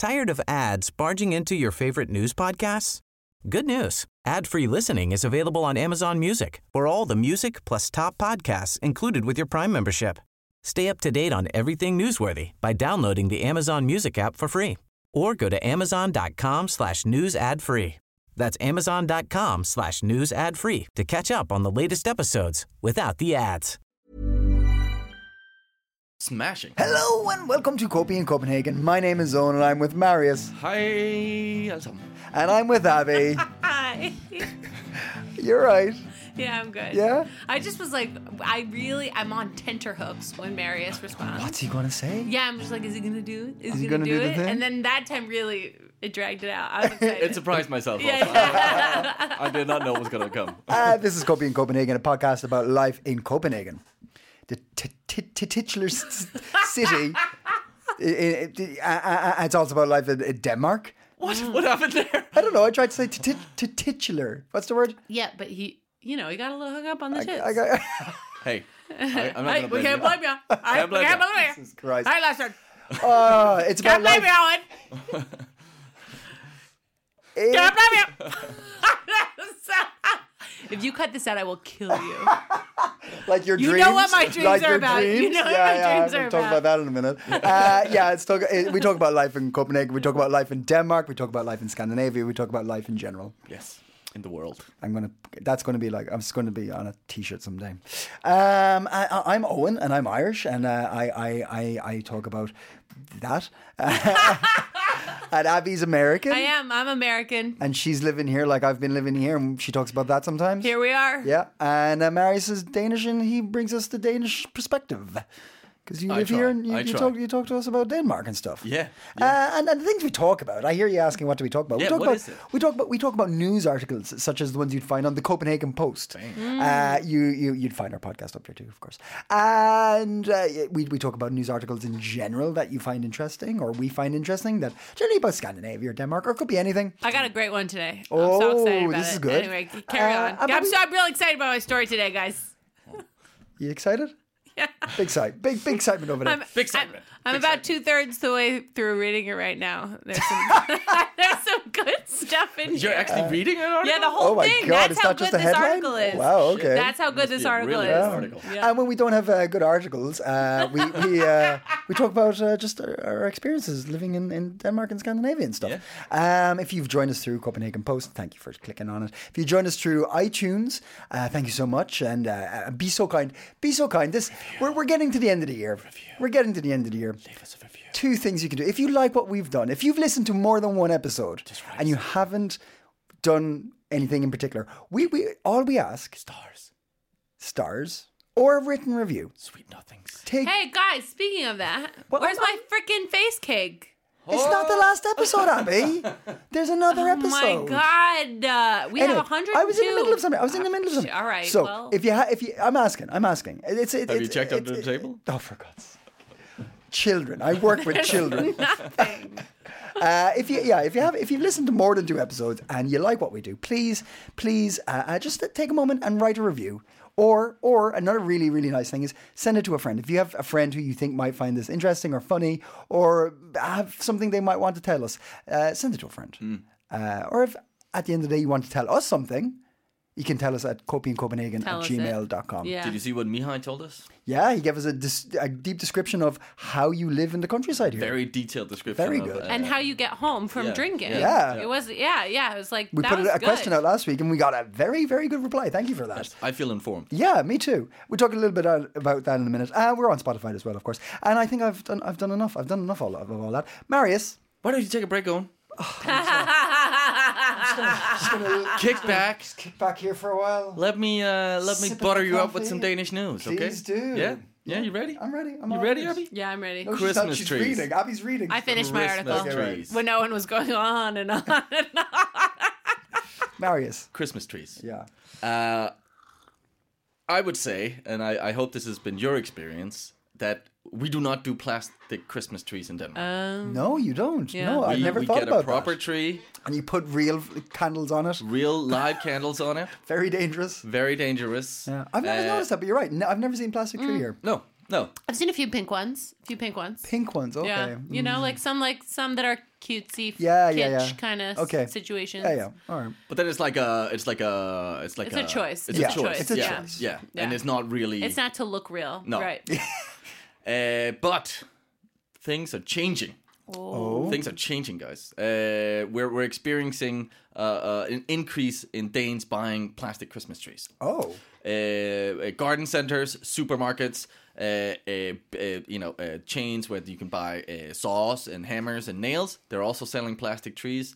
Tired of ads barging into your favorite news podcasts? Good news. Ad-free listening is available on Amazon Music for all the music plus top podcasts included with your Prime membership. Stay up to date on everything newsworthy by downloading the Amazon Music app for free or go to amazon.com/news ad free. That's amazon.com/news ad free to catch up on the latest episodes without the ads. Smashing. Hello and welcome to Copy in Copenhagen. My name is Owen and I'm with Marius. Hi, alle sammen. And I'm with Abby. Hi. You're right. Yeah, I'm good. Yeah? I just was like, I'm on tenterhooks when Marius responds. What's he going to say? Yeah, I'm just like, is he going to do it? Is he gonna going to do do the it? thing? And then that time really, it dragged it out. I was excited. It surprised myself. Yeah. I did not know it was going to come. This is Copy in Copenhagen, a podcast about life in Copenhagen. The titular city. It's also about life in Denmark. What happened there? I don't know. I tried to say titular. What's the word? Yeah, but he got a little hung up on the tits. Hey, I'm not going to We can't blame you. We can't blame you. Jesus Christ. All right, last one. It's about Can't blame life. you, Owen. Can't blame you. If you cut this out, I will kill you. Like your You dreams. know what my dreams like are your about. You Dreams. know what yeah, my dreams we'll are talk about that in a minute. We talk about life in Copenhagen. We talk about life in Denmark. We talk about life in Scandinavia. We talk about life in general. Yes, in the world. That's going to be like, I'm just going to be on a t-shirt someday. I'm Owen and I'm Irish and I talk about that. And Abby's American. I am. I'm American. And she's living here like I've been living here, and she talks about that sometimes. Here we are. Yeah, and Marius is Danish, and he brings us the Danish perspective. Because you live here and you talk to us about Denmark and stuff. Yeah. And the things we talk about. I hear you asking, what do we talk about? Yeah, what is it? We talk about news articles such as the ones you'd find on the Copenhagen Post. You'd find our podcast up there too, of course. And we talk about news articles in general that you find interesting, or we find interesting, that generally about Scandinavia or Denmark, or it could be anything. I got a great one today. Oh, I'm so excited about this it. is good. Anyway, carry on. I'm really excited about my story today, guys. You excited? Yeah. Big excitement over there. Big excitement. I'm about 2/3 the way through reading it right now. There's some good stuff in here. You're actually reading it already? Yeah, the whole my thing. God, That's it's how not good just a this headline? article is. Wow, okay. That's how good this be a article really is. good article. Yeah. And when we don't have good articles, we talk about just our experiences living in Denmark and Scandinavia and stuff. Yeah. If you've joined us through Copenhagen Post, thank you for clicking on it. If you joined us through iTunes, thank you so much, and be so kind. Be so kind. We're getting to the end of the year. We're getting to the end of the year. Leave us a review. 2 things you can do. If you like what we've done, if you've listened to more than one episode and you haven't done anything in particular, we all we ask, stars or a written review. Sweet nothings. Hey, guys, speaking of that, where's my freaking face cake? It's not the last episode, Abby. There's another Oh episode. my God. We have 102. I was in the middle of something. All right. So well. if you, I'm asking. Have you checked under the table? Oh, for God's sake. Children. I work with children. Nothing. If you've listened to more than 2 episodes and you like what we do, please, just take a moment and write a review. Or another really, really nice thing is send it to a friend. If you have a friend who you think might find this interesting or funny, or have something they might want to tell us, send it to a friend. Or if at the end of the day you want to tell us something, you can tell us at copyincopenhagen@gmail.com. Yeah. Did you see what Mihai told us? Yeah, he gave us a deep description of how you live in the countryside here. Very detailed description. Very of, good. And how you get home from drinking. Yeah. It was, It was like, We that put was a good. question out last week and we got a very, very good reply. Thank you for that. I feel informed. Yeah, me too. We'll talk a little bit about that in a minute. We're on Spotify as well, of course. And I think I've done enough. I've done enough of all that. Marius. Why don't you take a break, Owen? Just gonna Kick back. kick back here for a while. Let me Sip butter of you up coffee. with some Danish news, okay? Please do. Yeah, you ready? I'm ready. You ready, Abby? Yeah, I'm ready. No, Christmas she's trees. reading. Abby's reading. I finished my Christmas article trees. when no one was going on and on and on. Marius. Christmas trees. Yeah. I would say, and I hope this has been your experience, that we do not do plastic Christmas trees in Denmark. No, you don't. Yeah. No, I've never we thought get about a proper that. tree, And you put real candles on it. real live candles on it. Very dangerous. Very dangerous. Yeah. I've never noticed that, but you're right. No, I've never seen plastic tree here. No. I've seen a few pink ones. Pink ones, okay. Yeah, you know, like some that are cutesy, Yeah. kind of Okay. situations. Yeah. All right. But then it's like a It's a choice. It's Yeah. a choice. It's a yeah. choice. Yeah. Yeah. And it's not really. It's not to look real. No. Right. But things are changing. Things are changing, guys. We're experiencing an increase in Danes buying plastic Christmas trees. Oh. Garden centers, supermarkets, chains where you can buy saws and hammers and nails. They're also selling plastic trees.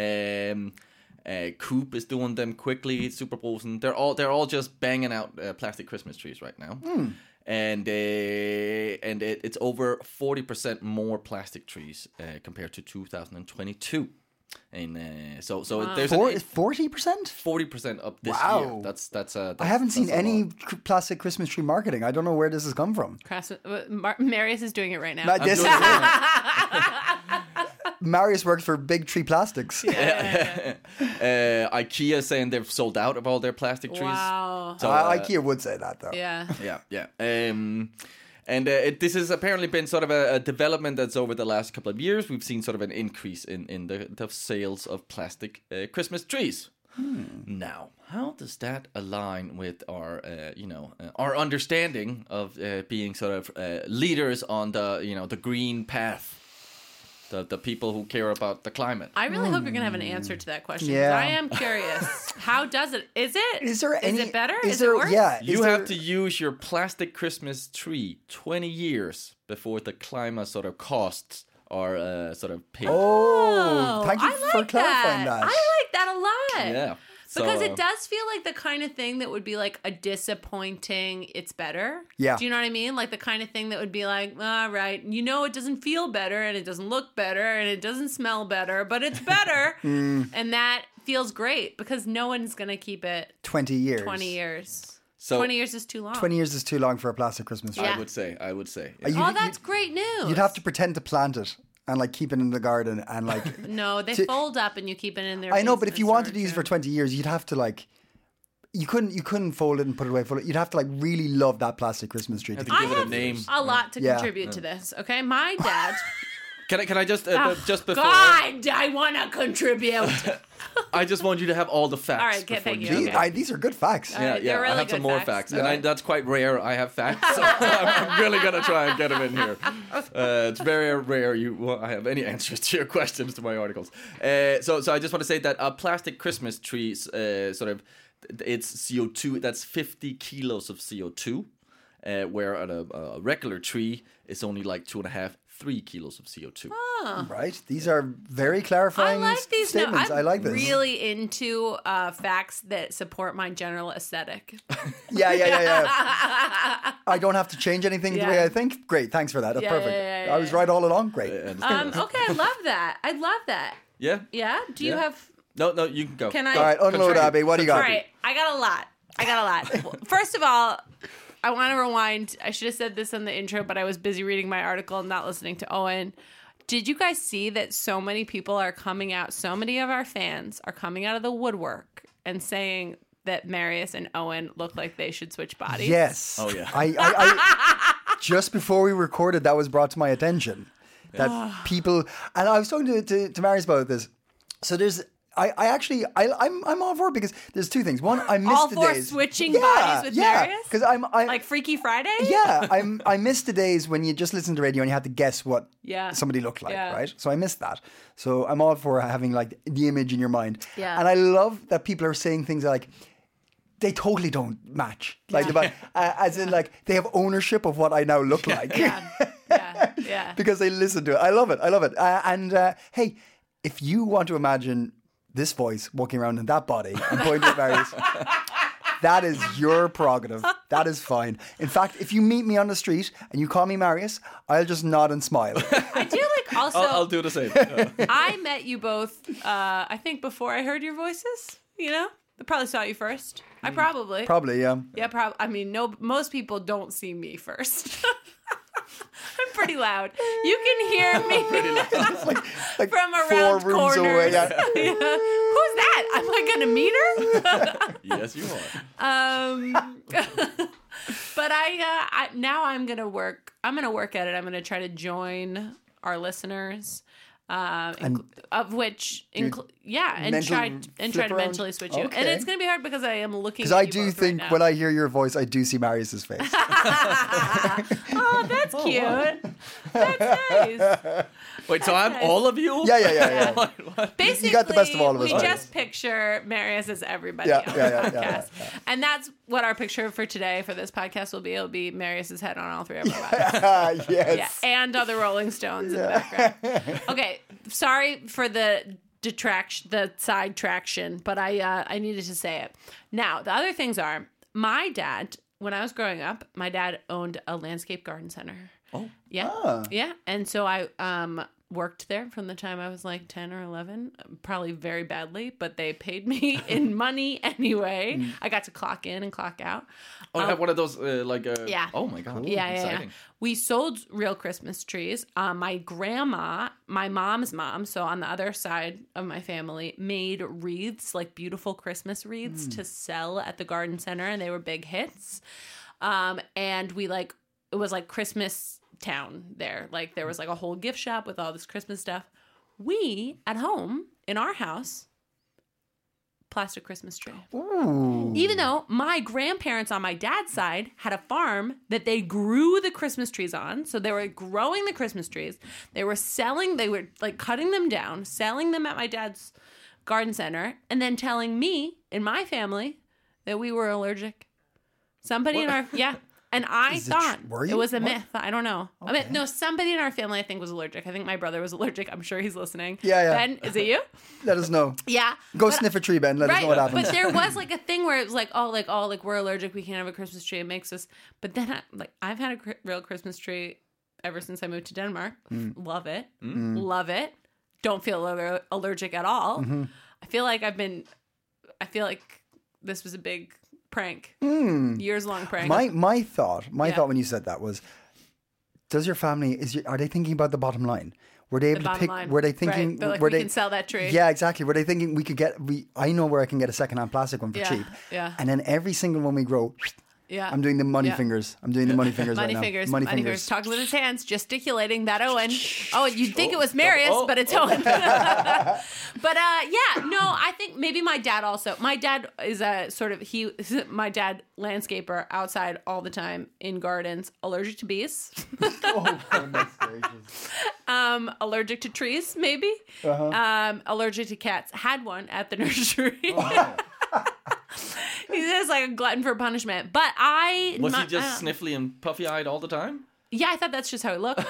Coop is doing them quickly. Superposen. They're all just banging out plastic Christmas trees right now. And it's over 40% more plastic trees compared to 2022. And so there's 40%? 40% up this Wow. year. That's I haven't seen that's a any lot. plastic Christmas tree marketing. I don't know where this has come from. Marius is doing it right now. Not this Marius works for Big Tree Plastics. IKEA saying they've sold out of all their plastic trees. Wow. So, IKEA would say that, though. Yeah. Yeah. This has apparently been sort of a development that's over the last couple of years. We've seen sort of an increase in the sales of plastic Christmas trees. Now, how does that align with our our understanding of being sort of leaders on the green path? The people who care about the climate. I really hope you're going to have an answer to that question. 'Cause Yeah. I am curious. How does it? Is it? Is there any? Is it better? Is Is there? it worse? Yeah. You is have there- to use your plastic Christmas tree 20 years before the climate sort of costs are sort of paid. Oh, thank you I for like clarifying that. I like that a lot. Yeah. Because So, it does feel like the kind of thing that would be like a disappointing, it's better. Yeah. Do you know what I mean? Like the kind of thing that would be like, all right, it doesn't feel better and it doesn't look better and it doesn't smell better, but it's better. And that feels great because no one's going to keep it 20 years. 20 years. So 20 years is too long. 20 years is too long for a plastic Christmas tree. Yeah. I would say. You- that's great news. You'd have to pretend to plant it and like keep it in the garden and like. No, they fold up and you keep it in there. I know, but if you wanted to use it for 20 years, you'd have to like. You couldn't fold it and put it away. You'd have to like really love that plastic Christmas tree. Have to I give it a have name. a lot to Yeah. contribute to this. Okay, my dad. Can I just just before God, I want to contribute. I just want you to have all the facts. All right, before thank you. do These, that. these are good facts. All right, Yeah, they're really I have some good more facts. facts, and that's quite rare. I have facts, so I'm really gonna try and get them in here. It's very rare I have any answers to your questions to my articles. So I just want to say that a plastic Christmas tree, it's CO2. That's 50 kilos of CO2, where a regular tree is only like 3 kilos of CO2. Right? These are very I clarifying like these. statements. I'm I like this. really into facts that support my general aesthetic. Yeah. I don't have to change anything the Yeah. way I think. Great, thanks for that. That's Yeah, perfect. yeah, I was right all along. Great. Okay, I love that. I love that. Yeah. Yeah. Do you Yeah. have? No, you can go. Can I? All right, unload, Contribute. Abby. What do you got? All right, I got a lot. Well, first of all, I want to rewind. I should have said this in the intro, but I was busy reading my article and not listening to Owen. Did you guys see that so many people are coming out, so many of our fans are coming out of the woodwork and saying that Marius and Owen look like they should switch bodies? Yes. Oh, yeah. I just before we recorded, that was brought to my attention that people, and I was talking to Marius about this. So there's, I'm all for it because there's two things. One, I missed All the for days. switching bodies with Marius? Because I Like Freaky Friday? yeah, I missed the days when you just listened to radio and you had to guess what Yeah. somebody looked like, Yeah. right? So I missed that. So I'm all for having like the image in your mind. Yeah. And I love that people are saying things like, they totally don't match. Like, as in like, they have ownership of what I now look like. Yeah. Because they listen to it. I love it. Hey, if you want to imagine this voice walking around in that body and pointing at Marius, that is your prerogative. That is fine. In fact, if you meet me on the street and you call me Marius, I'll just nod and smile. I do like also. I'll do the same. Yeah. I met you both, I think, before I heard your voices. You know? I probably saw you first. I probably. Probably, yeah. Yeah, probably. I mean, no. Most people don't see me first. I'm pretty loud. You can hear me Like from 4 around rooms corners. away. Yeah. Yeah. Who's that? Am I gonna meet her? Yes, you are. But now I'm gonna work. I'm gonna work at it. I'm gonna try to join our listeners. of which, and mental try to flip around? mentally switch you. And Okay. it's going to be hard because I am looking. Because at I you do both think right now. when I hear your voice, I do see Marius's face. Oh, that's cute. That's nice. Wait, so I'm all of you? Yeah. Basically, got the best of all of us, we right? just picture Marius as everybody Yeah, on yeah, the yeah, podcast. yeah. And that's what our picture for today for this podcast will be. It'll be Marius's head on all three of our bodies. Yes. Yeah, and other Rolling Stones in the background. Okay, sorry for the side traction, but I needed to say it. Now, the other things are, my dad, when I was growing up, my dad owned a landscape garden center. Oh. Yeah. Yeah. And so I worked there from the time I was like 10 or 11, probably very badly, but they paid me in money anyway. I got to clock in and clock out. Oh, I have one of those, Yeah. Oh my God. Yeah. Exciting. We sold real Christmas trees. My grandma, my mom's mom, so on the other side of my family, made wreaths, like beautiful Christmas wreaths to sell at the garden center, and they were big hits. And it was like Christmas town there. Like there was like a whole gift shop with all this Christmas stuff. We, at home, in our house, plastic Christmas tree. Ooh. Even though my grandparents on my dad's side had a farm that they grew the Christmas trees on. So they were growing the Christmas trees. They were like cutting them down, selling them at my dad's garden center, and then telling me and my family that we were allergic. Somebody in our, and I thought were you? it was a What? myth. I don't know. I mean, no, somebody in our family I think was allergic. I think my brother was allergic. I'm sure he's listening. Yeah. Ben, is it you? Let us know. Yeah. Go But- sniff a tree, Ben. Let us know what happens. But there was like a thing where it was like, we're allergic. We can't have a Christmas tree. It makes us. But then I've had a real Christmas tree ever since I moved to Denmark. Love it. Love it. Don't feel allergic at all. Mm-hmm. I feel like this was a big prank. Years long prank. My thought Yeah. when you said that was, does your family are they thinking about the bottom line? Were they able to bottom pick? line. Were they thinking? Right. They're like, were we they can sell that tree. Yeah, exactly. Were they thinking we could get? I know where I can get a secondhand plastic one for Yeah, cheap. yeah. And then every single one we grow, Yeah. I'm doing the money Yeah. fingers. I'm doing the money fingers Money right fingers, now. money fingers, talking with his hands, gesticulating. That Owen. Oh, you'd think it was Marius, but it's Owen. But I think maybe my dad also. My dad is my dad landscaper outside all the time in gardens. Allergic to bees. Oh, goodness gracious. Allergic to trees, maybe. Allergic to cats. Had one at the nursery. He's just like a glutton for punishment. But Was he just sniffly and puffy-eyed all the time? Yeah, I thought that's just how he looked.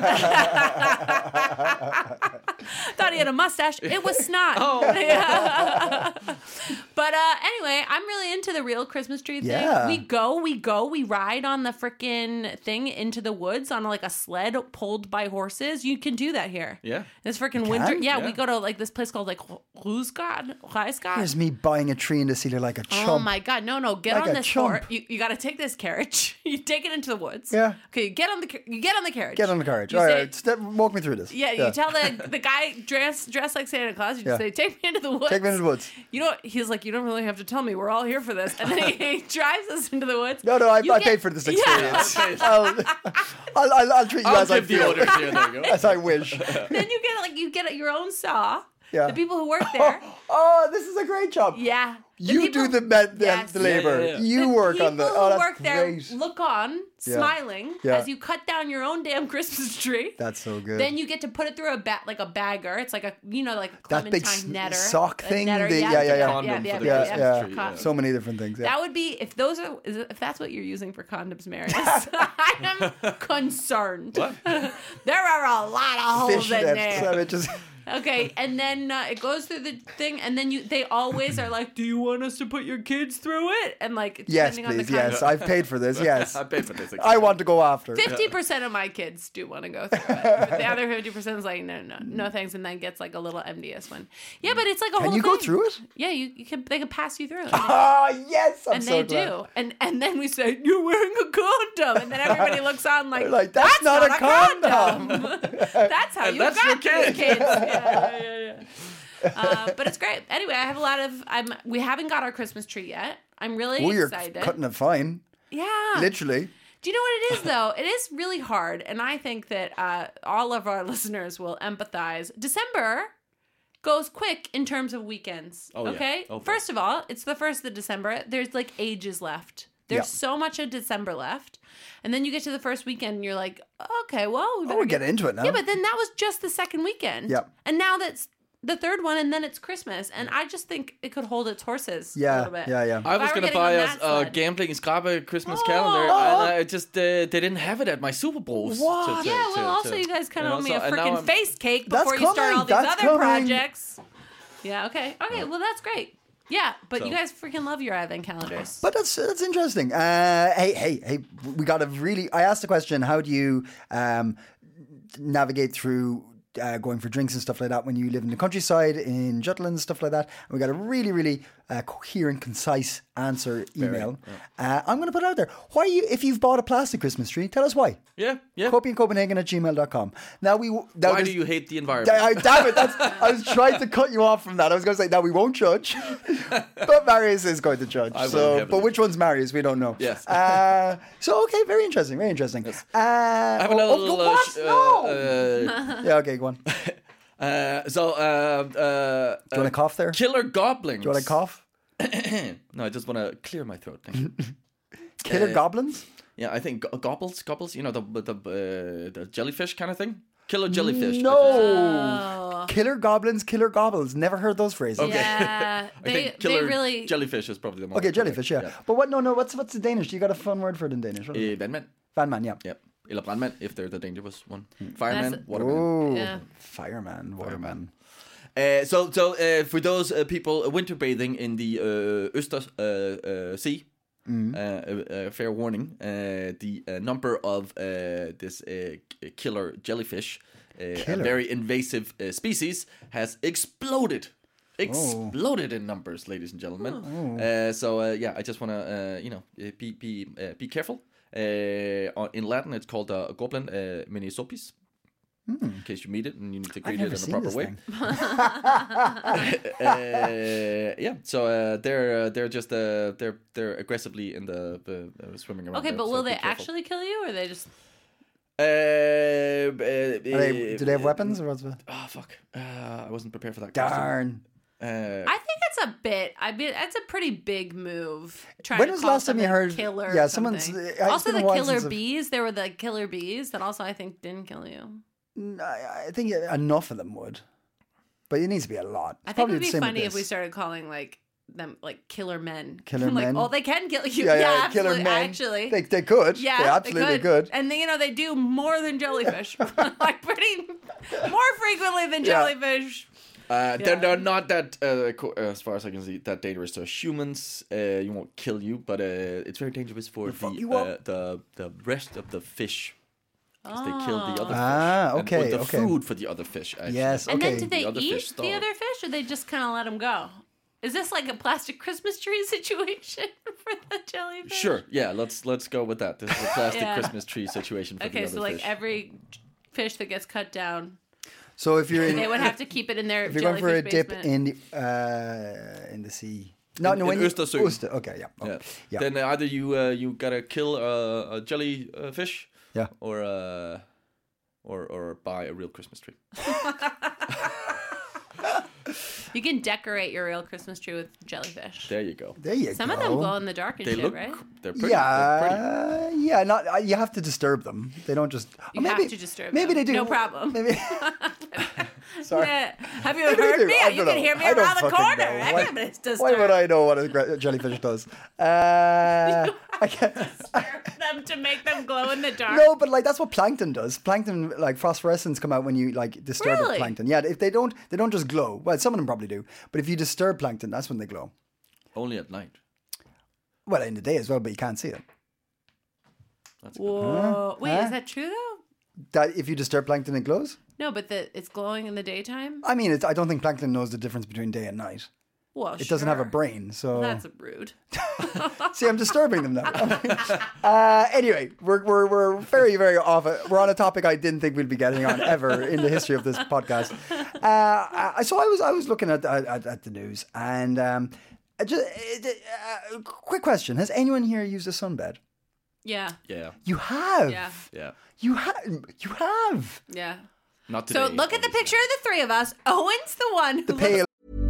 Thought he had a mustache. It was snot. Yeah. But anyway, I'm really into the real Christmas tree thing. Yeah. We ride on the freaking thing into the woods on like a sled pulled by horses. You can do that here. Yeah. It's freaking winter. can? Yeah, Yeah. we go to like this place called like Rysgård. Here's me buying a tree in the cedar like a chump. Oh my God! No! Get Like on a this chump. horse. You got to take this carriage. You take it into the woods. Yeah. Okay. You get on the carriage. Get on the carriage. You All say- right, walk me through this. Yeah, you tell the guy dressed like Santa Claus. You just Yeah. say, "Take me into the woods." Take me into the woods. You know, he's like, "You don't really have to tell me. We're all here for this." And then he drives us into the woods. No, I You paid for this experience. Okay. I'll treat you I'll as I give the feel, orders here. There you go. as I wish. Then you get your own saw. Yeah. The people who work there. Oh, this is a great job. Yeah. You do the Yes. labor. Yeah, yeah, yeah. You work on the. people Oh, who that's work there great. look on, Yeah. smiling, Yeah. as you cut down your own damn Christmas tree. That's so good. Then you get to put it through a bagger. It's like a that clementine big netter. sock a thing. netter, Yeah. Condom for the Yeah, Christmas yeah. tree, yeah. So many different things. Yeah. That would be if that's what you're using for condoms, Marius. I am concerned. What? There are a lot of holes in Fishnets. there. I mean, just Okay, and then it goes through the thing, and then they always are like, "Do you want us to put your kids through it?" And like, yes, depending on the please. kind Yes, I've paid for this. Yes, I paid for this. I want to go after. 50% of my kids do want to go through it. But the other 50% is like, no, thanks, and then gets like a little envious one. Yeah, but it's like a whole Can you thing. go through it? Yeah, you can. They can pass you through. Ah, yes. I'm And so they glad. do. And then we say, "You're wearing a condom." And then everybody looks on like, They're like, "That's not a condom." That's how And you that's got your kid. these kids. Yeah. But it's great. Anyway, I have a lot of... we haven't got our Christmas tree yet. I'm really Oh, you're excited. cutting it fine. Yeah. Literally. Do you know what it is, though? It is really hard. And I think that all of our listeners will empathize. December goes quick in terms of weekends. Oh, yeah. Okay? Oh, First of all, it's the 1st of December. There's like ages left. There's so much of December left. And then you get to the first weekend and you're like, okay, well, we're getting into it now. Yeah, but then that was just the second weekend. Yep. And now that's the third one, and then it's Christmas. And I just think it could hold its horses a Yeah, little bit. yeah. I was were going to getting buy on us that a sled. gambling Skrabe Christmas calendar, and I just they didn't have it at my Super Bowls. What? Yeah, well, also you guys kind of owe me a and now freaking I'm- face cake That's before you start coming, all these that's other coming. projects. Yeah, okay. Okay, well, that's great. Yeah, but you guys freaking love your advent calendars. But that's interesting. Hey, we got to really. I asked the question: how do you navigate through going for drinks and stuff like that when you live in the countryside in Jutland, stuff like that? And we got a really, really coherent, concise answer email. I'm going to put it out there. Why if you've bought a plastic Christmas tree, tell us why. Yeah. Copenhagen@gmail.com. Now Why do you hate the environment? Damn it! I was trying to cut you off from that. I was going to say, now we won't judge, but Marius is going to judge. But which one's Marius? We don't know. Yes. Okay, very interesting. Very interesting. I have another little. Yeah. Okay, go on. Do you want to cough there? Killer goblins. Do you want to cough? No, I just want to clear my throat. Thank you. Killer goblins? Yeah, I think gobbles. You know, the jellyfish kind of thing. Killer jellyfish. No. Oh. Killer goblins, killer gobbles. Never heard those phrases. Yeah, I think they killer really... jellyfish is probably the most. Okay, jellyfish, yeah. But what? No. What's the Danish? You got a fun word for it in Danish? What is it? Vandmand. Vandman, yeah. Yep. Eller brandmand, if they're the dangerous one. Fireman, That's- waterman. Oh, Yeah. fireman, waterman. So for those people winter bathing in the Øster Sea, fair warning, the number of this killer jellyfish, a very invasive species, has exploded. Exploded in numbers, ladies and gentlemen. I just want to be careful. In Latin, it's called Goblin Minisopis. In case you meet it and you need to greet it in a proper way. They're just they're aggressively in the swimming around. Okay, there, but so will be they careful. actually kill you, or are they just... Do they have weapons or what's it? Oh fuck! I wasn't prepared for that. Darn. I think it's a bit. I mean, that's a pretty big move. Trying When to was the call last time you someone heard- killer? yeah, or someone's- something. it's Also, been a the while killer since I've- bees. There were the killer bees that also I think didn't kill you. I think enough of them would. But it needs to be a lot. I think it would be funny if we started calling them killer men. Killer like, men? oh, they can kill you. Yeah, absolutely, killer men. Actually, They could. yeah, they absolutely could. And they do more than jellyfish. Like pretty more frequently than Yeah. jellyfish. They're not that, as far as I can see, that dangerous to humans. You won't kill you, but it's very dangerous for fuck you up. the rest of the fish. Because they kill the other Ah, fish. okay, And the okay. food for the other fish, actually. Yes, And okay. then do they The other fish eat the starve. other fish, or they just kind of let them go? Is this like a plastic Christmas tree situation for the jellyfish? Sure, yeah, let's go with that. This is a plastic Yeah. Christmas tree situation for the Okay, other so like fish. every fish that gets cut down, So if you're they would have to keep it in their if you're going for a jellyfish dip basement. in the sea. No, in when you Østersøen. Okay, yeah. Oh, Yeah. yeah. Then either you gotta kill a jellyfish, Yeah. or buy a real Christmas tree. You can decorate your real Christmas tree with jellyfish. There you go. There you Some go. of them glow in the dark and They shit, look. right? They're pretty. They're pretty. Yeah. Not you have to disturb them. They don't just. You maybe, have to disturb Maybe them. they do. No problem. Maybe. Sorry. Yeah. Have you Maybe they heard do. me? I You don't can know. hear me I don't around the fucking corner. know. Everybody's disturbed. Why would I know what a jellyfish does? I can't. them to make them glow in the dark. No, but like that's what plankton does. Plankton, like phosphorescence, come out when you like disturb the Really? plankton. Yeah, if they don't just glow. Well, some of them probably do. But if you disturb plankton, that's when they glow. Only at night. Well, in the day as well, but you can't see it. That's good. Whoa. Wait, Huh? is that true though? That if you disturb plankton, it glows. No, but it's glowing in the daytime. I mean, I don't think plankton knows the difference between day and night. Well, It doesn't have a brain, so That's rude. see, I'm disturbing them now. Anyway, we're very, very off. We're on a topic I didn't think we'd be getting on ever in the history of this podcast. So I was looking at the news, and quick question: has anyone here used a sunbed? Yeah. Yeah. You have. Yeah. Yeah. You have. Yeah. Not today. So look at the picture of the three of us. Owen's the one who The pale.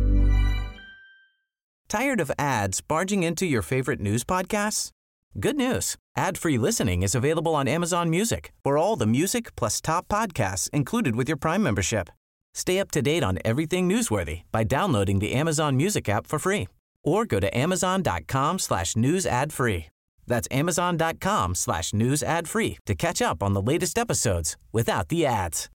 Tired of ads barging into your favorite news podcasts? Good news. Ad-free listening is available on Amazon Music for all the music plus top podcasts included with your Prime membership. Stay up to date on everything newsworthy by downloading the Amazon Music app for free or go to amazon.com/news ad free. That's amazon.com/news ad free to catch up on the latest episodes without the ads.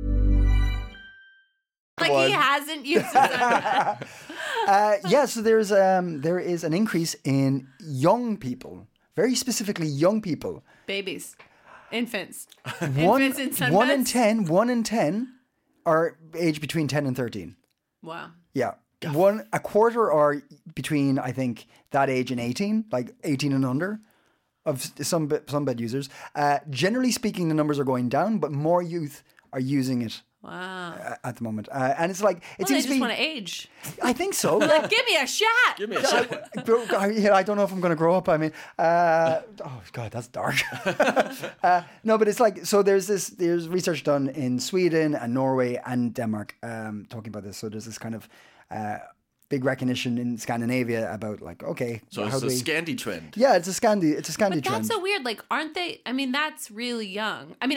like he hasn't used his underwear. Yeah, so there is an increase in young people, very specifically young people. Babies. Infants. One, Infants in sunbeds. 1 in 10 are aged between 10 and 13. Wow. Yeah. A quarter are between, I think, that age and 18, like 18 and under of some bed users. Generally speaking, the numbers are going down, but more youth are using it Wow. at the moment. And it's like, it Well, they seems just to be... want to age. I think so. Like, give me a shot. Give me a shot. I don't know if I'm going to grow up. I mean, oh God, that's dark. No, but it's like, so there's research done in Sweden and Norway and Denmark talking about this. So there's this kind of big recognition in Scandinavia about like, okay, So how it's do a we... Scandi trend. Yeah, it's a Scandi But trend. that's so weird. Like, aren't they? I mean, that's really young. I mean,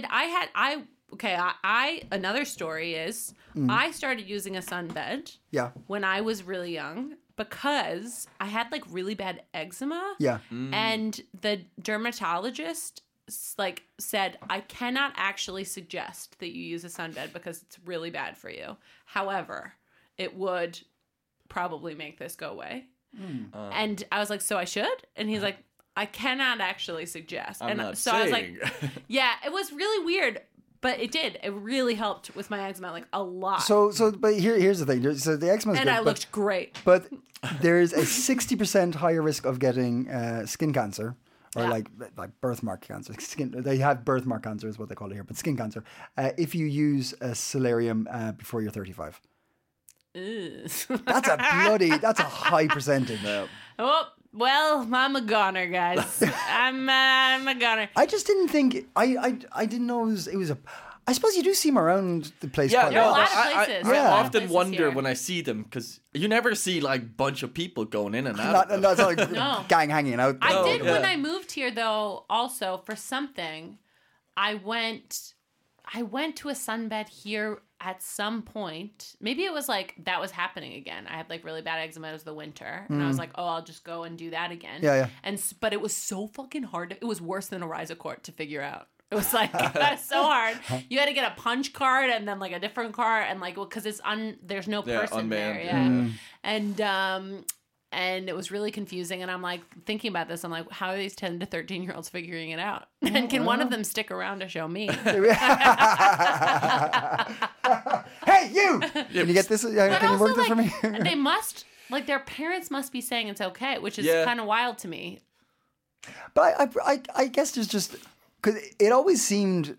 another story is I started using a sunbed Yeah, when I was really young because I had like really bad eczema. yeah. And the dermatologist like said, I cannot actually suggest that you use a sunbed because it's really bad for you. However, it would probably make this go away. And I was like, so I should? And he's like, I cannot actually suggest. I'm and not so I was like, saying. yeah, it was really weird, but it did. It really helped with my eczema, like a lot. But here's the thing. So the eczema is and good, I looked great. but there's a 60% higher risk of getting skin cancer. Or Yeah. like birthmark cancer. They have birthmark cancer is what they call it here, but skin cancer. If you use a solarium before you're 35. That's a high percentage. Oh, well, I'm a goner, guys. I'm a goner. I just didn't think I didn't know it was a. I suppose you do see them around the place. Yeah, quite There are a a lot. lot of places. There are a Yeah. lot I of often places wonder here. when I see them because you never see like bunch of people going in and out. Not, of them. not like No. gang hanging out. I there. did when yeah. I moved here, though. Also, for something, I went to a sunbed here at some point. Maybe it was like that was happening again. I had like really bad eczema. It was the winter, and I was like, "Oh, I'll just go and do that again." Yeah, yeah. But it was so fucking hard. It was worse than a Risacort to figure out. It was like so hard. You had to get a punch card and then like a different card and like because there's no person unmanned, there. Yeah, and it was really confusing. And I'm like thinking about this. I'm like, how are these 10 to 13-year-olds figuring it out? And can one of them stick around to show me? Hey, you! Can you get this? But Can you also, work this for me? like, they must like their parents must be saying it's okay, which is Yeah. kind of wild to me. But I guess there's just because it always seemed.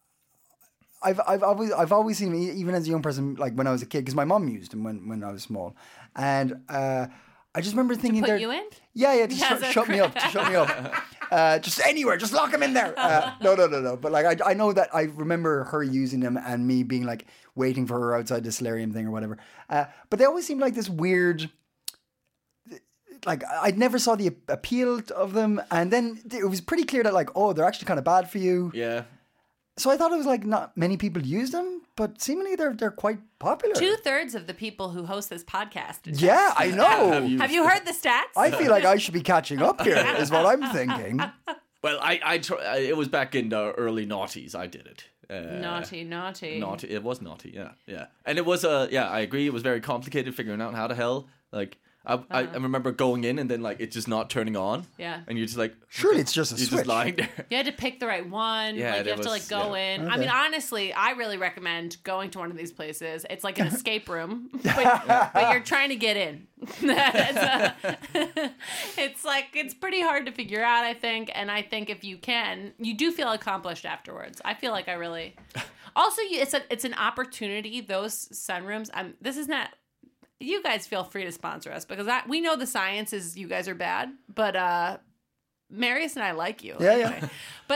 I've always seen them, even as a young person, like when I was a kid, because my mom used them when I was small, and I just remember thinking, Put they're- you in? yeah, to As a shut me up, just anywhere, just lock them in there. No. But like I know that I remember her using them and me being like waiting for her outside the solarium thing or whatever. But they always seemed like this weird. Like I never saw the appeal of them, and then it was pretty clear that like, oh, they're actually kind of bad for you. Yeah. So I thought it was like not many people use them, but seemingly they're quite popular. 2/3 of the people who host this podcast. Yeah, I know. Have you heard the stats? I feel like I should be catching up here. Is what I'm thinking. Well, it was back in the early noughties. I did it. Naughty. Naughty. It was naughty. Yeah. And it was I agree. It was very complicated figuring out how the hell like. I remember going in and then like it's just not turning on. Yeah. And you're just like, Surely it's just a you're switch. just lying there. You had to pick the right one. Yeah, like you there have to like was- go yeah. in. I mean, honestly, I really recommend going to one of these places. It's like an escape room, but you're trying to get in. It's like it's pretty hard to figure out, I think. And I think if you can, you do feel accomplished afterwards. I feel like I really. Also, it's an opportunity. Those sunrooms. This is not. You guys feel free to sponsor us because we know the science is you guys are bad, but Marius and I like you. Yeah, anyway. yeah. But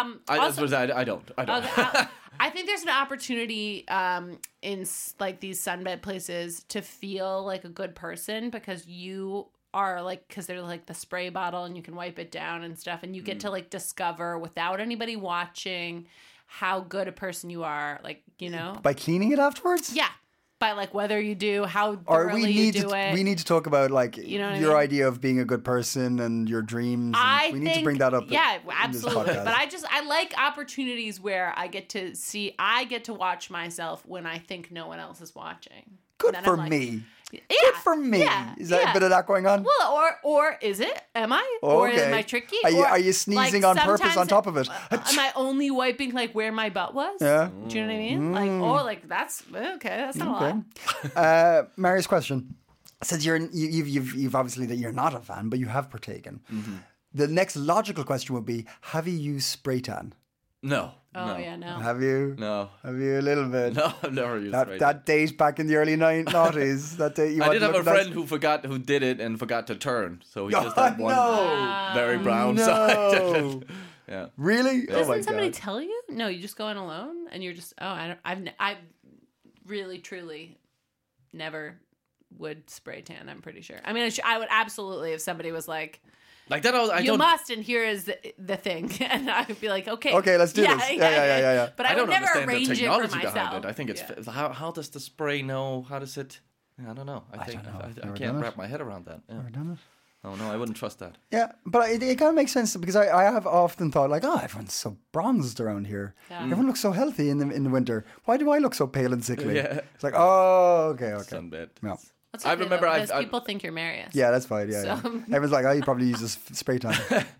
I don't. Okay, I think there's an opportunity in like these sunbed places to feel like a good person because you are like, because they're like the spray bottle and you can wipe it down and stuff, and you get to like discover without anybody watching how good a person you are, like, you know, By cleaning it afterwards? yeah, by like whether you do, how Or thoroughly we you need do to it. we need to talk about like You know what I your mean? idea of being a good person and your dreams. And we need to bring that up. Yeah, in this absolutely. podcast. But I like opportunities where I get to watch myself when I think no one else is watching. Good And then for I'm like, me. Yeah, Good for me. Yeah, Is that yeah. a bit of that going on? Well, or is it? Am I? Or Okay. am I tricky? Are you Or, sneezing like, on purpose on sometimes top of it? Am I only wiping like where my butt was? Yeah. Do you know what I mean? Like, like that's okay. That's not a lot. Mary's question says you've obviously that you're not a fan, but you have partaken. Mm-hmm. The next logical question would be: have you used spray tan? No. Oh no. yeah, no. Have you? No. Have you a little bit? No, I've never used That spray tan. that days back in the early 90s. That day you I want did to have a look at friend who did it and forgot to turn, so he just Oh, had one no. very brown No. side. Yeah. Really? Oh my Doesn't somebody god. tell you? No, you just go in alone, and you're just. Oh, I've really truly never would spray tan. I'm pretty sure. I mean, I would absolutely if somebody was like, Like that, I "You don't. must," and here is the thing, and I would be like, "Okay, Okay, let's do this. Yeah. But I, I would don't never understand the arrange it for technology myself. behind it. I think it's Yeah. how does the spray know? How does it? I don't know. I think don't know. I Never can't done it. wrap my head around that. Yeah. Done it? Oh no, I wouldn't trust that. Yeah, but it kind of makes sense because I have often thought like, oh, everyone's so bronzed around here. Yeah. Everyone looks so healthy in the winter. Why do I look so pale and sickly? Yeah. It's like, oh, okay. Sunbed. Yeah. That's I okay, remember though, I've- because I've- people think you're Marius. Yeah, that's fine. Yeah, So- yeah. Everyone's like, oh, you probably use this spray tan.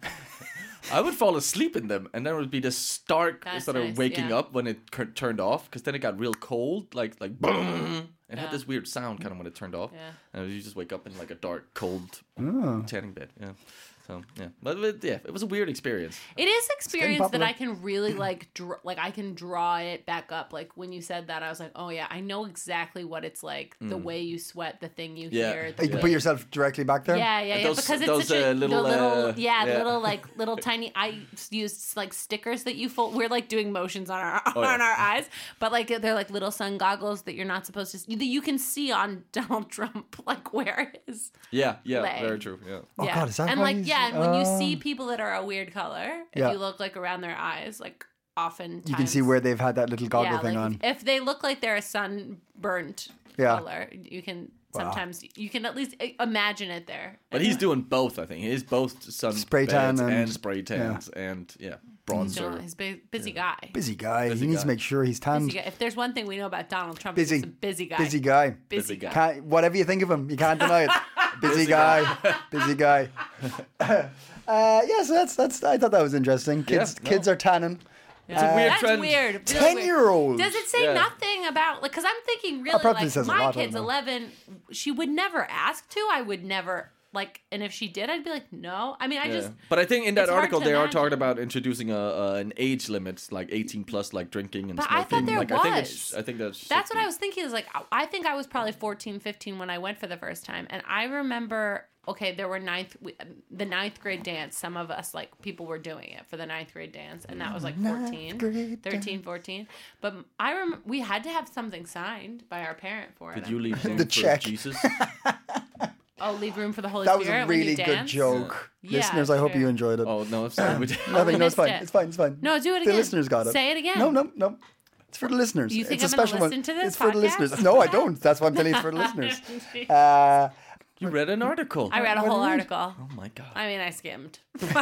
I would fall asleep in them, and then it would be this stark That's sort of nice, waking yeah. up when it turned off, because then it got real cold, like boom. It had Yeah. this weird sound kind of when it turned off, Yeah. and you just wake up in like a dark, cold Oh. tanning bed. Yeah, so yeah, but it was a weird experience. It is experience that popular. I can really like, I can draw it back up. Like when you said that, I was like, oh yeah, I know exactly what it's like. The way you sweat, the thing you Yeah. hear. You The can way- put yourself directly back there. Yeah, Those- because it's those, such a little, yeah. little tiny. I used like stickers that you fold. We're like doing motions on our Oh, yeah. on our eyes, but like they're like little sun goggles that you're not supposed to. That you can see on Donald Trump, like where his Yeah, leg. very true. Yeah. Oh, yeah. God, is that and why like he's- yeah, and when you oh. see people that are a weird color, if Yeah. you look like around their eyes, like often You can see where they've had that little goggle thing like on. if they look like they're a sunburnt Yeah. color, you can sometimes you can at least imagine it there. But he's doing both. I think he is both sun Spray tan beds and- spray tans and bronzer. He's a busy guy. Busy guy. Busy he needs to guy. make sure he's tanned. Busy guy. If there's one thing we know about Donald Trump, Busy. he's a busy guy. Busy guy. Busy guy. guy. Can't, whatever you think of him, you can't deny it. Busy guy. Busy guy. So that's. I thought that was interesting. Kids, no. kids are tanning. It's a weird That's trend. weird. Really 10-year-olds. Does it say Yeah. nothing about like? Because I'm thinking really probably like says a my lot, I kid's don't know. 11. She would never ask to. I would never like, and if she did, I'd be like, no. I mean, I just. But I think in that it's hard article to they are imagine. talking about introducing an age limit, like 18 plus, like drinking and But I smoking. thought there like, was. I think that's. That's what I was thinking. Is like I think I was probably 14, 15 when I went for the first time, and I remember. Okay, there were the ninth grade dance. Some of us, like, people were doing it for the ninth grade dance, and that was like 14, grade 13, 14. But I remember we had to have something signed by our parent for it. Did you leave room The for check. Jesus? Oh, leave room for the Holy That was Spirit a when you really good dance? joke. Yeah, Listeners, I hope sure. you enjoyed it. Oh no, I'm sorry. Nothing. No, it's missed fine. it. It's fine. It's fine. No, do it The again. listeners got it. Say it again. No. It's for the listeners. You think it's I'm a gonna special listen one. to this It's for the podcast? listeners. No, I don't. That's why I'm telling you it's for the listeners. You read an article. I read a What whole do you read? article. Oh my god. I mean, I skimmed.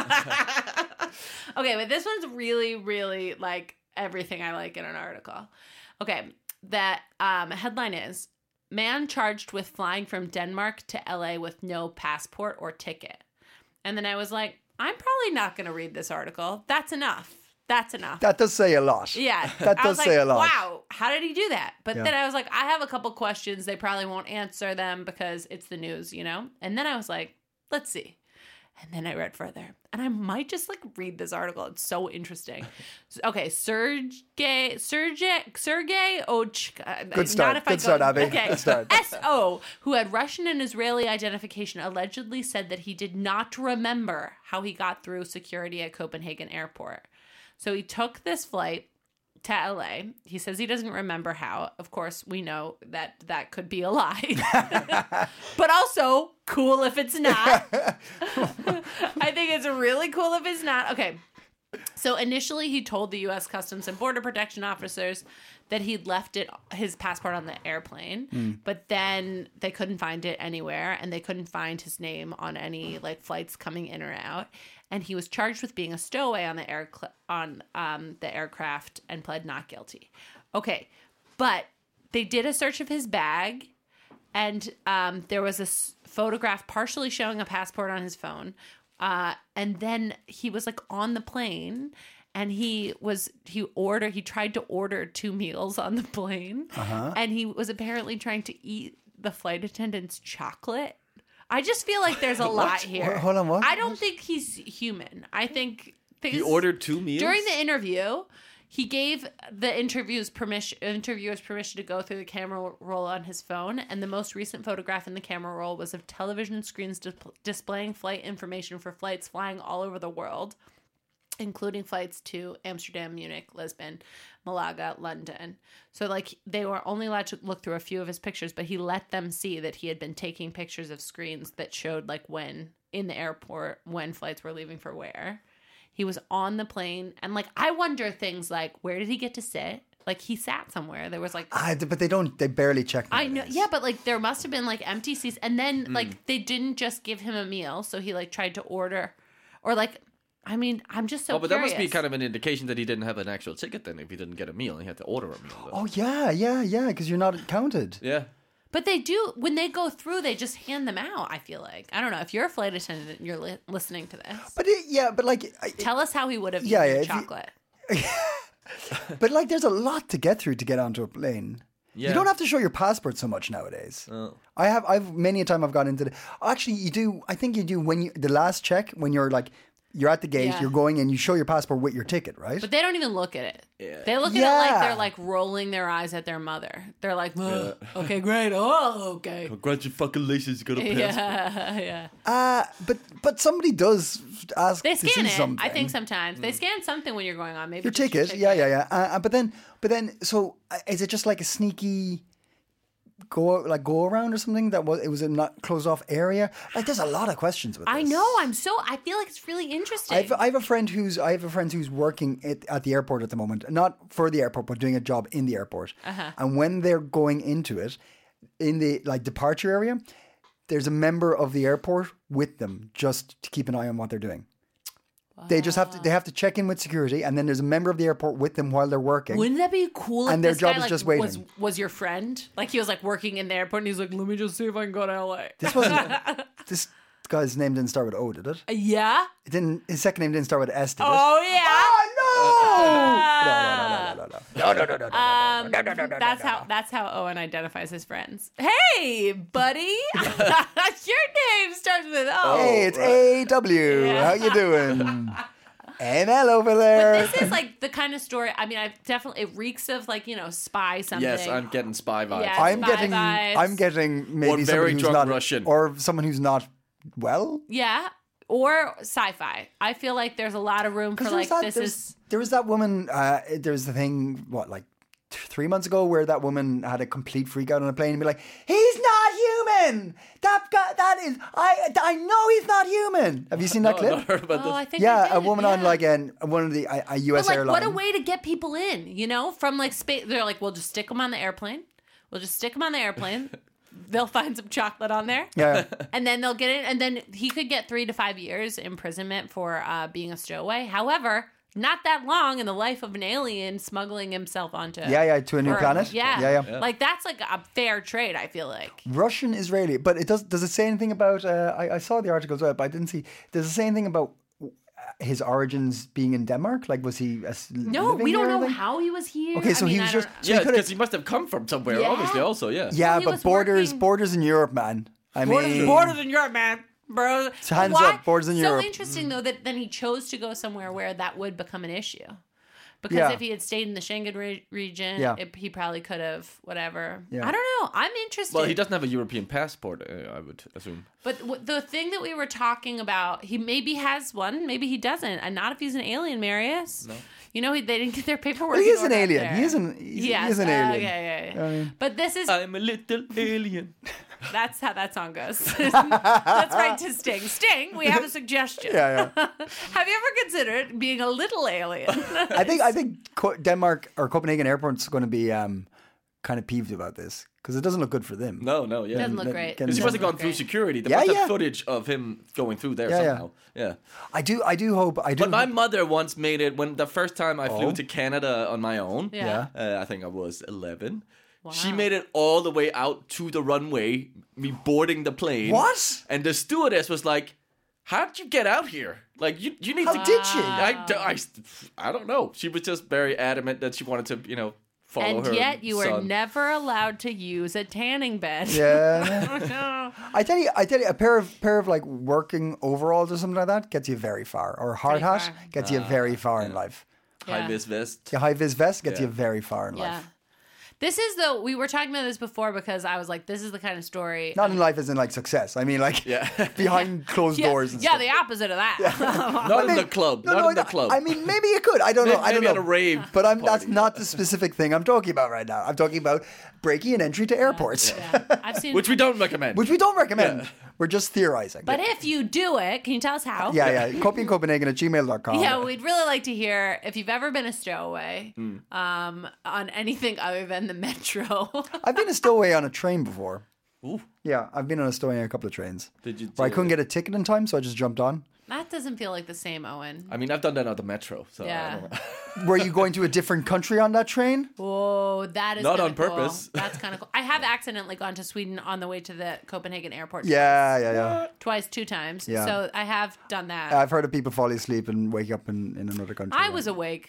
Okay, but this one's really, really like everything I like in an article. Okay, that headline is, man charged with flying from Denmark to LA with no passport or ticket. And then I was like, I'm probably not going to read this article. That's enough. That's enough. That does say a lot. Yeah. That I does was like, say a lot. wow, how did he do that? But Yeah. then I was like, I have a couple questions. They probably won't answer them because it's the news, you know? And then I was like, let's see. And then I read further. And I might just like read this article. It's so interesting. Okay, Sergey Ochka. Good start. Good start, Abby. Okay. Good start. S.O., who had Russian and Israeli identification, allegedly said that he did not remember how he got through security at Copenhagen airport. So he took this flight to LA. He says he doesn't remember how. Of course, we know that that could be a lie. But also, cool if it's not. I think it's really cool if it's not. Okay. So initially, he told the U.S. Customs and Border Protection officers that he'd left his passport on the airplane, but then they couldn't find it anywhere, and they couldn't find his name on any like flights coming in or out. And he was charged with being a stowaway on the aircraft and pled not guilty. Okay, but they did a search of his bag, and there was a photograph partially showing a passport on his phone. And then he was like on the plane, and he tried to order 2 meals on the plane, and he was apparently trying to eat the flight attendant's chocolate. I just feel like there's a lot here. Hold on, what? I don't think he's human. I think He ordered 2 meals? during the interview. He gave the interviewers permission to go through the camera roll on his phone, and the most recent photograph in the camera roll was of television screens displaying flight information for flights flying all over the world, including flights to Amsterdam, Munich, Lisbon, Malaga, London. So, like, they were only allowed to look through a few of his pictures, but he let them see that he had been taking pictures of screens that showed, like, when in the airport, when flights were leaving for where. He was on the plane, and like I wonder things like, where did he get to sit? Like he sat somewhere. There was like, but they barely check. I know, yeah, but like there must have been like empty seats, and then like they didn't just give him a meal, so he like tried to order, or like, I mean, I'm just so. But curious. that must be kind of an indication that he didn't have an actual ticket. Then, if he didn't get a meal, he had to order a meal. Though. Oh yeah, because you're not counted. Yeah. But they do, when they go through, they just hand them out, I feel like. I don't know. If you're a flight attendant and you're listening to this. But like... Tell us how he would have eaten chocolate. But like, there's a lot to get through to get onto a plane. Yeah. You don't have to show your passport so much nowadays. Oh. I've many a time I've gone into actually, you do, I think you do when the last check, when you're like... You're at the gate, you're going in, you show your passport with your ticket, right? But they don't even look at it. Yeah. They look at it like they're like rolling their eyes at their mother. They're like, okay, great. Oh, okay. Congratulations, you got a passport. Yeah. But somebody does ask they to scan see it, something. I think sometimes. They scan something when you're going on. Maybe your ticket. Yeah. But then, so is it just like a sneaky... go around or something it was a not closed off area? Like there's a lot of questions with this. I know. I feel like it's really interesting. I have a friend who's working at the airport at the moment, not for the airport, but doing a job in the airport. And when they're going into it, in the like departure area, there's a member of the airport with them just to keep an eye on what they're doing. Wow. They have to check in with security, and then there's a member of the airport with them while they're working. Wouldn't that be cool? And if their this job guy, is like, just waiting. Was your friend like he was like working in the airport, and he's like, let me just see if I can go to LA. This guy's name didn't start with O, did it? Yeah. It didn't. His second name didn't start with S, did it? Oh yeah. Oh no! That's how Owen identifies his friends. Hey, buddy, your name starts with O. Hey, it's A.W. Yeah. How you doing? ML over there. But this is like the kind of story. I mean, it reeks of like, you know, spy something. Yes, I'm getting spy vibes. Yeah, I'm getting maybe or very someone who's drunk not Russian, or someone who's not well. Yeah. Or sci-fi. I feel like there's a lot of room for like There was that woman. There was the thing. What, like 3 months ago, where that woman had a complete freak out on a plane and be like, "He's not human. That is. I know he's not human." Have you seen that clip? Not heard about this. I think a woman on like one of the a U.S. airline. What a way to get people in. You know, from like space. They're like, we'll just stick them on the airplane. They'll find some chocolate on there. Yeah. And then they'll get it. And then he could get 3 to 5 years imprisonment for being a stowaway. However, not that long in the life of an alien smuggling himself onto... to a new planet. Yeah. Like, that's like a fair trade, I feel like. Russian, Israeli. But does it say anything about... I saw the article as well, but I didn't see... Does it say anything about his origins being in Denmark? Like, was he No, we don't know how he was here. Okay, so he was just... because he must have come from somewhere, obviously, also, yeah. Yeah, but borders in Europe, man. Borders in Europe, man. bro. So hands Why? up, borders in so Europe. interesting though that then he chose to go somewhere where that would become an issue. Because Yeah. if he had stayed in the Schengen region, Yeah. he probably could have whatever. Yeah. I don't know. I'm interested. Well, he doesn't have a European passport, I would assume. But the thing that we were talking about, he maybe has one, maybe he doesn't, and not if he's an alien, Marius. No. You know, they didn't get their paperwork. He in is an order up alien. there. He is an alien. Okay, yeah. But this is I'm a little alien. that's how that song goes. That's right to Sting. Sting, we have a suggestion. Yeah. Have you ever considered being a little alien? I think Denmark or Copenhagen Airport's going to be kind of peeved about this because it doesn't look good for them. No, yeah. Doesn't look great. Because he wasn't going through security. There was the footage of him going through there somehow. Yeah. I do hope. But my mother once made it when the first time I flew to Canada on my own. Yeah. I think I was 11. Wow. She made it all the way out to the runway, me boarding the plane. What? And the stewardess was like, how did you get out here? Like, you need How to... did she? I don't know. She was just very adamant that she wanted to, follow her And yet you were son. never allowed to use a tanning bed. Yeah. I tell you, a pair of like working overalls or something like that gets you very far. Or a hard Pretty hat far. gets you very far in life. High-vis vest. The high vis vest gets Yeah. you very far in Yeah. life. This is we were talking about this before because I was like, this is the kind of story. Not in life as in like success. I mean like behind closed doors and stuff. the opposite of that. Not in the club. Not in the club. I mean, maybe you could. I don't know. I don't Maybe know. at a rave But that's party. not the specific thing I'm talking about right now. I'm talking about breaking an entry to airports, Yeah. I've seen Which we don't recommend. which we don't recommend. We're just theorizing. But if you do it, can you tell us how? yeah. Copenhagen@gmail.com. Yeah, we'd really like to hear if you've ever been a stowaway on anything other than the metro. I've been a stowaway on a train before. Ooh. Yeah, I've been on a stowaway on a couple of trains. Did you? Where I couldn't get a ticket in time, so I just jumped on. That doesn't feel like the same, Owen. I mean, I've done that on the metro. So Yeah. I don't know. Were you going to a different country on that train? Whoa, that is Not kinda on purpose. Cool. That's kind of cool. I have accidentally gone to Sweden on the way to the Copenhagen airport. Yeah. Two times. Yeah. So I have done that. I've heard of people fall asleep and wake up in another country. I was awake.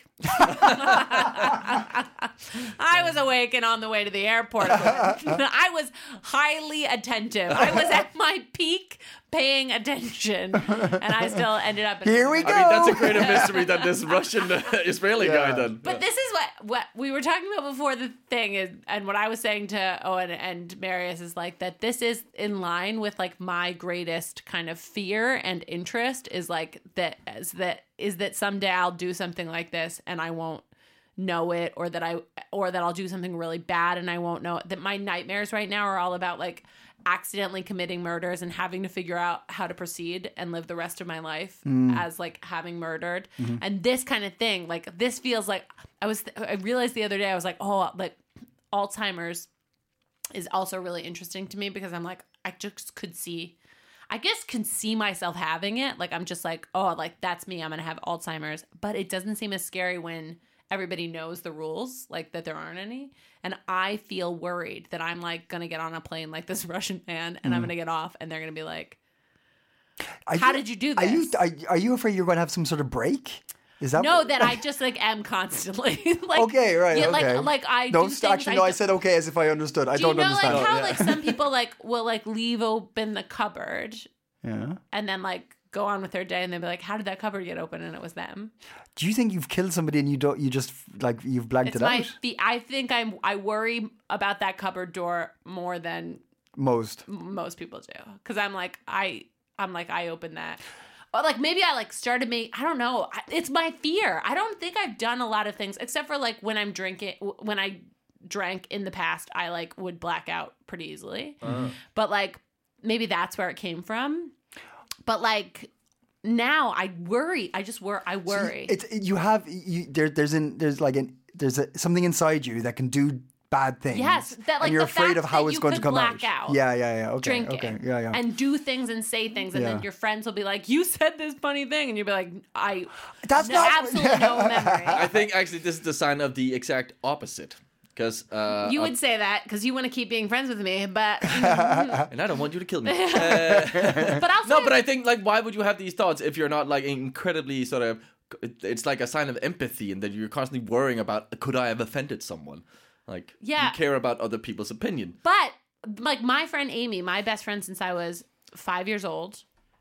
I was awake and on the way to the airport. I was highly attentive. I was at my peak paying attention, and I still ended up. Here we go. I mean, that's a greater mystery than this Russian Israeli guy done. But this is what we were talking about before. The thing is, and what I was saying to Owen and Marius is like that. This is in line with like my greatest kind of fear and interest is like that someday I'll do something like this and I won't know it, or that I'll do something really bad and I won't know it. That my nightmares right now are all about like accidentally committing murders and having to figure out how to proceed and live the rest of my life as like having murdered. And this kind of thing, like this feels like I realized the other day I was like, oh, like Alzheimer's is also really interesting to me because I'm like, I just can see myself having it. Like I'm just like, oh, like that's me. I'm going to have Alzheimer's, but it doesn't seem as scary when everybody knows the rules, like that there aren't any. And I feel worried that I'm like going to get on a plane like this Russian man and I'm going to get off and they're going to be like, how did you do this? Are you afraid you're going to have some sort of break? Is that that I just like am constantly like, okay, right? yeah, okay. like I no, do things actually, no. I said okay as if I understood. I don't understand. Like how like some people like will like leave open the cupboard, and then like go on with their day, and they'll be like, "How did that cupboard get open?" And it was them. Do you think you've killed somebody and you just like you've blanked it out? I think I worry about that cupboard door more than most people do because I'm like I opened that. Or like maybe I like started I don't know. It's my fear. I don't think I've done a lot of things except for like when I'm drinking. When I drank in the past, I like would black out pretty easily. But like maybe that's where it came from. But like now I worry. I worry. There's something inside you that can do bad things. Yes, that like and you're the afraid fact of how that it's you going to could come black out. Yeah. Okay. Drinking. Okay. Yeah. And do things and say things, and then your friends will be like, "You said this funny thing," and you'll be like, That's not absolutely no memory." I think actually this is the sign of the exact opposite. Because you would say that because you want to keep being friends with me, but and I don't want you to kill me. But also no, but I think like why would you have these thoughts if you're not like incredibly sort of? It's like a sign of empathy, and that you're constantly worrying about could I have offended someone? Like you care about other people's opinion. But like my friend Amy, my best friend since I was 5 years old,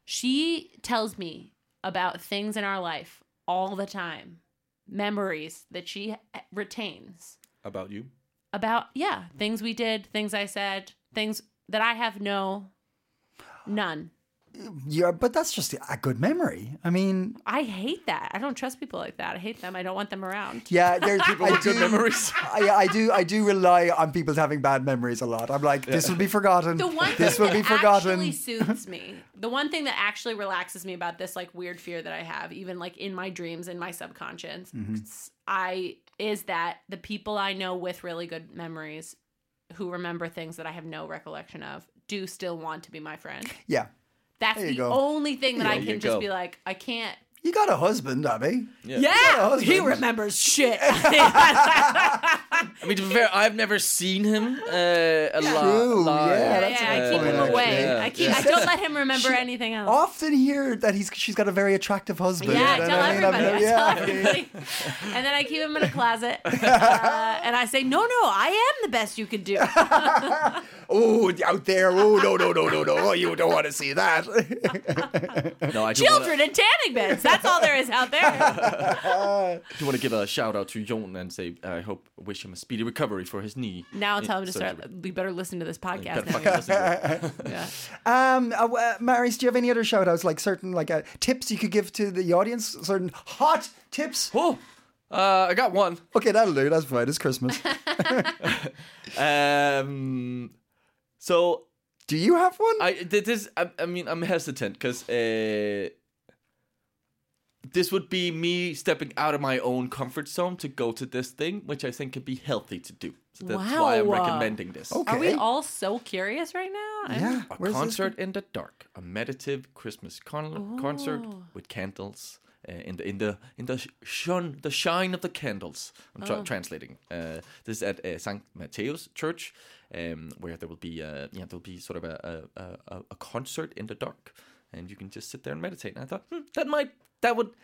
She tells me about things in our life all the time, memories that she retains. About you? About, things we did, things I said, things that I have none. Yeah, but that's just a good memory. I mean, I hate that. I don't trust people like that. I hate them. I don't want them around. yeah, there's people with good memories. I do rely on people having bad memories a lot. I'm like, this will be forgotten. The one This thing will be that forgotten. actually soothes me, the one thing that actually relaxes me about this like weird fear that I have, even like in my dreams, in my subconscious, is that the people I know with really good memories, who remember things that I have no recollection of, do still want to be my friend. Yeah. That's There you the go. only thing that I you can just go. be like, I can't. You got a husband, Abby. Yeah, he remembers shit. I mean, to be fair, I've never seen him a True, lot. yeah, I that's a keep good him point, away. actually. I don't let him remember anything else. Often hear that she's got a very attractive husband. Yeah, I And tell I mean, everybody. I tell yeah. everybody. And then I keep him in a closet. And I say, no, I am the best you could do. Oh, out there. Oh, no. Oh, you don't want to see that. No, I do Children in tanning beds. That's all there is out there. want to give a shout out to Jon and say I wish him a speedy recovery for his knee. Now tell him to surgery. start. We better listen to this podcast. Better fucking listen to it. Yeah. Maris, do you have any other shout outs, like certain tips you could give to the audience? Certain hot tips? Oh, I got one. Okay, that'll do. That's fine. It's Christmas. So Do you have one? I mean, I'm hesitant because this would be me stepping out of my own comfort zone to go to this thing, which I think could be healthy to do. So that's why I'm Wow. recommending this. Okay. Are we all so curious right now? Yeah. A Where's this concert in the dark, a meditative Christmas concert with candles in the shine of the candles. I'm translating. This is at St. Matthäus Church, where there will be sort of a concert in the dark, and you can just sit there and meditate. And I thought that would.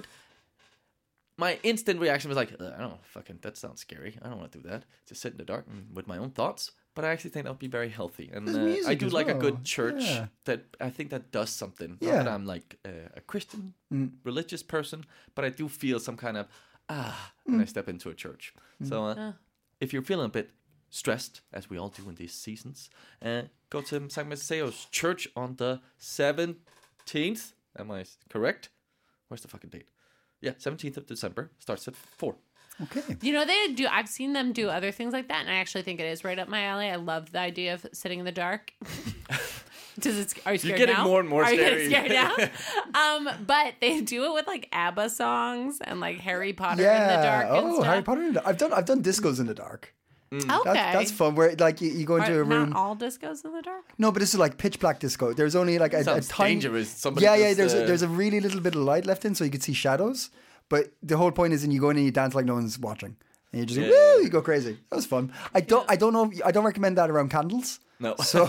My instant reaction was like, I don't fucking, that sounds scary. I don't want to do that. Just sit in the dark with my own thoughts. But I actually think that would be very healthy. And There's music I do as like a well. good church Yeah. that I think that does something. Yeah. Not that I'm like a Christian, religious person, but I do feel some kind of, when I step into a church. So if you're feeling a bit stressed, as we all do in these seasons, go to St. Matthäus Church on the 17th. Am I correct? Where's the fucking date? Yeah, 17th of December. Starts at 4. Okay. You know, I've seen them do other things like that, and I actually think it is right up my alley. I love the idea of sitting in the dark. Are you scared You're getting now? more and more Are you scary. getting scared now? But they do it with like ABBA songs and like Harry Potter in the dark and Oh, stuff. Harry Potter in the dark. I've done discos in the dark. Okay. That's fun. Where like you go into a room. Not all discos in the dark. No, but this is like pitch black disco. There's only like a Sounds tiny. dangerous. Somebody Yeah. just, There's a really little bit of light left in, so you could see shadows. But the whole point is, you go in and you dance like no one's watching, and you just woo, you go crazy. That was fun. I don't know. I don't recommend that around candles. No. So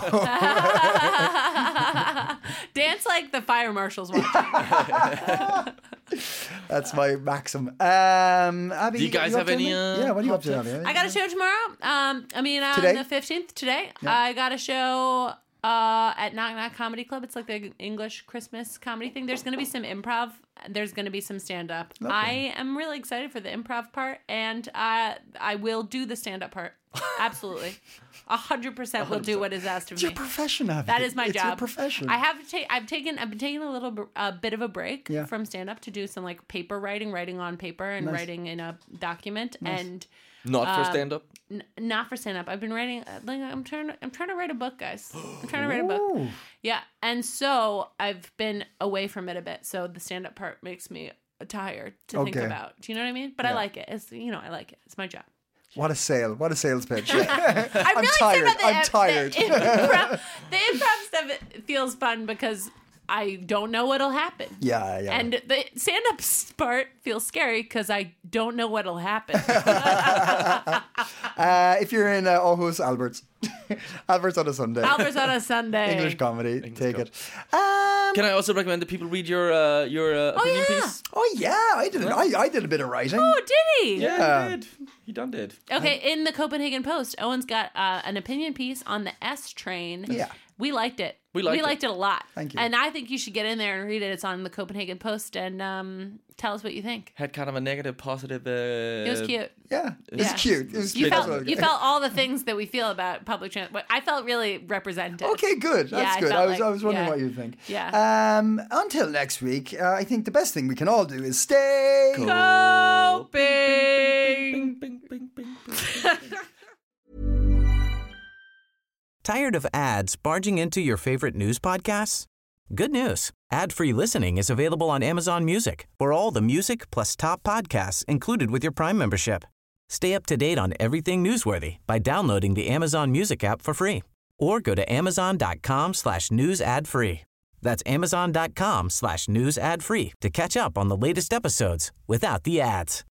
Dance like the fire marshals watching. that's my maxim. Abby, Do you guys up have to any, anything? Yeah, what are you up to, hot Abby? I got a show tomorrow. On Today? the 15th today. I got a show at Knock Knock Comedy Club. It's like the English Christmas comedy thing. There's going to be some improv. There's going to be some stand-up. I am really excited for the improv part, and I will do the stand-up part. Absolutely. 100% will do what is asked of It's your me. profession, Abby. That is my it's job. Your profession. I've been taking a bit of a break Yeah. from stand up to do some like paper writing on paper and writing in a document and Not for stand up. not for stand up. I've been writing like I'm trying to write a book, guys. I'm trying to write a book. Yeah. And so I've been away from it a bit. So the stand up part makes me tired to think Okay. about. Do you know what I mean? But I like it. I like it. It's my job. What a sale! What a sales pitch! I'm really tired. excited about I'm tired. The improv stuff feels fun because I don't know what'll happen. Yeah. And the stand-up part feels scary because I don't know what'll happen. If you're in Aarhus, Albert's. Albert's on a Sunday. Albert's on a Sunday. English comedy. Take it. Can I also recommend that people read your opinion yeah. piece? Oh yeah, I did. I did a bit of writing. Oh, did he? Yeah, he did. He done did. Okay, in the Copenhagen Post, Owen's got an opinion piece on the S train. Yeah. We liked it. We liked it a lot. Thank you. And I think you should get in there and read it. It's on the Copenhagen Post, and tell us what you think. Had kind of a negative, positive. It was cute. Yeah, it's cute. It was You cute. you felt all the things that we feel about public transport. I felt really represented. Okay, good. That's good. I was wondering what you think. Yeah. Until next week, I think the best thing we can all do is stay Coping. Tired of ads barging into your favorite news podcasts? Good news. Ad-free listening is available on Amazon Music for all the music plus top podcasts included with your Prime membership. Stay up to date on everything newsworthy by downloading the Amazon Music app for free or go to amazon.com/news ad free. That's amazon.com/news ad free to catch up on the latest episodes without the ads.